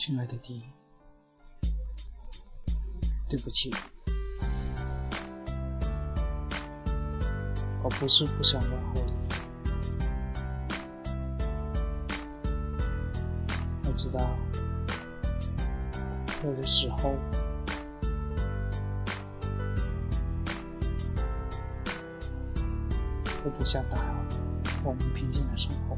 亲爱的弟，对不起，我不是不想问候你，我知道有的时候我不想打扰我们平静的生活，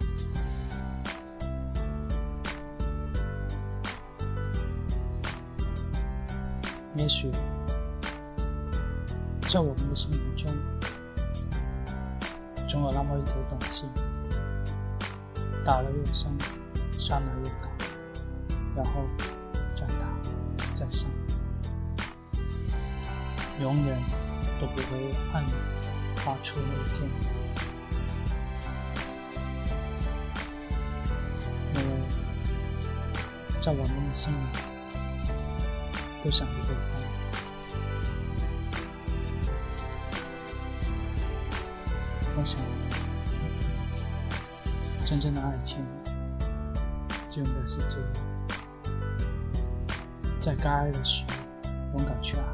也许在我们的生活中总有那么一头东西打了又伤，伤了又打，然后再打再伤，永远都不会按发出内剑，因为在我们的心里都想着对方。我想真正的爱情就应该是这样，在该爱的时候勇敢去爱，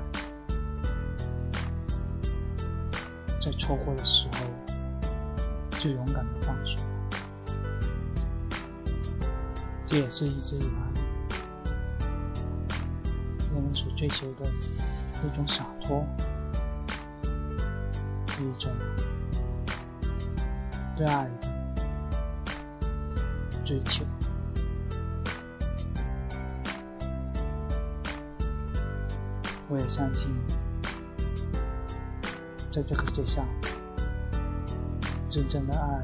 在错过的时候就勇敢的放手，这也是一直以来我们所追求的一种洒脱，一种对爱的追求。我也相信在这个世界上真正的爱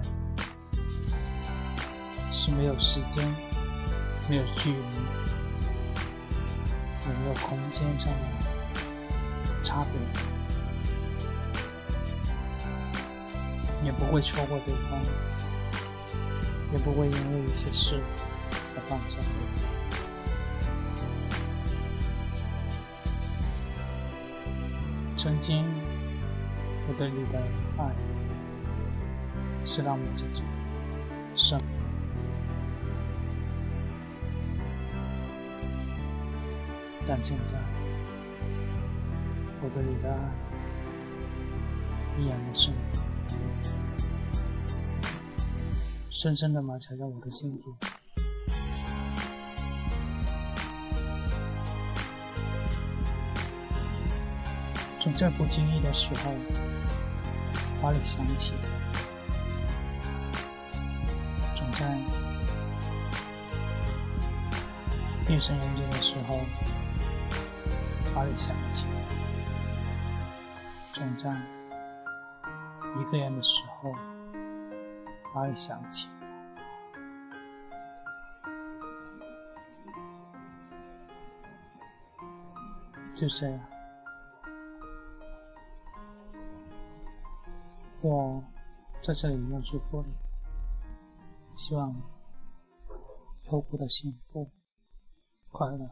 是没有时间，没有距离，也没有空间上的差别，也不会错过对方，也不会因为一些事而放下对方。曾经我对你的爱是那么这种深，但现在我对你的爱依然的深，深深地埋藏在我的心底。总在不经意的时候把你想起，总在夜深人静的时候把你想起，总在一个人的时候把你想起。就这样，我在这里要祝福你，希望以后过得幸福快乐，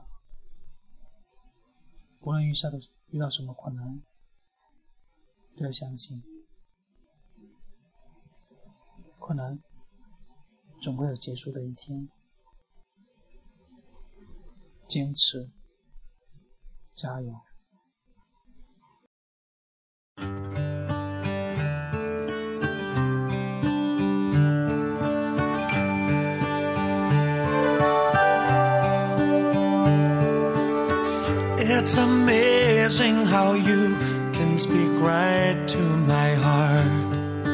无论遇到什么困难，都要相信困难总会有结束的一天，坚持加油。 It's amazing how you can speak right to my heart.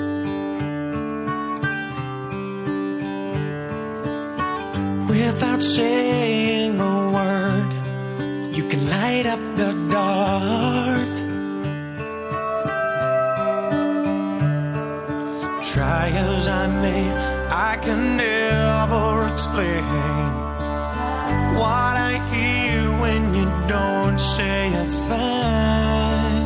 Without saying a word, you can light up the dark. Try as I may, I can never explain what I hear when you don't say a thing.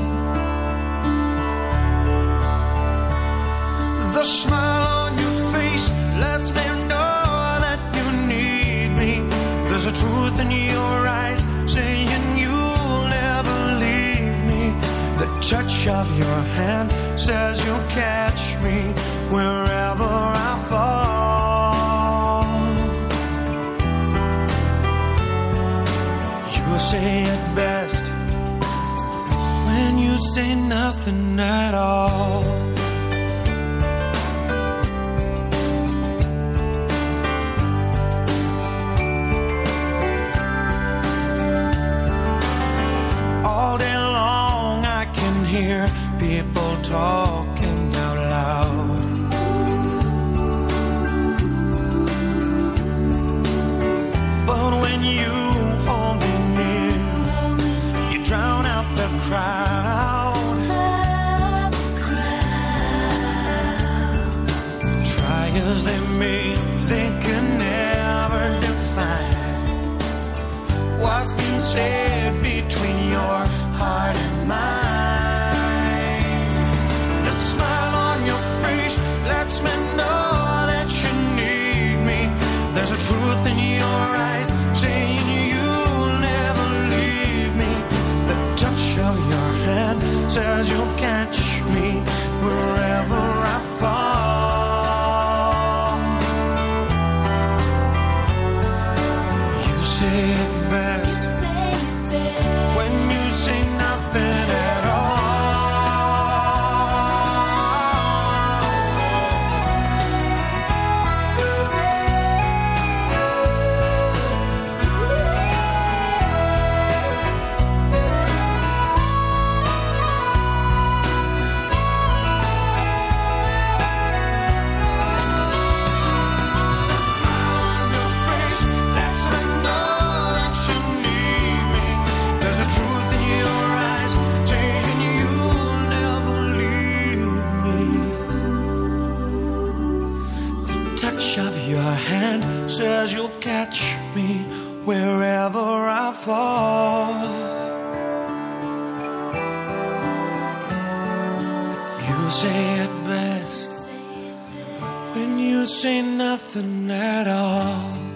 The smile on your face lets me know that you need me. There's a truth in your eyes saying you'll never leave me. The touch of your hand says you'll catch me wherever I fall. say nothing at all. All day long I can hear people talking out loud. But when you hold me near, you drown out the crowd. Try as they may, they can never define what's been said between your heart and mine. The smile on your face lets me know that you need me. There's a truth in your eyes saying you'll never leave me. The touch of your hand says you'll catch me wherever I fall. You say it best when you say nothing at all. Your hand says you'll catch me wherever I fall. You say it best when you say nothing at all.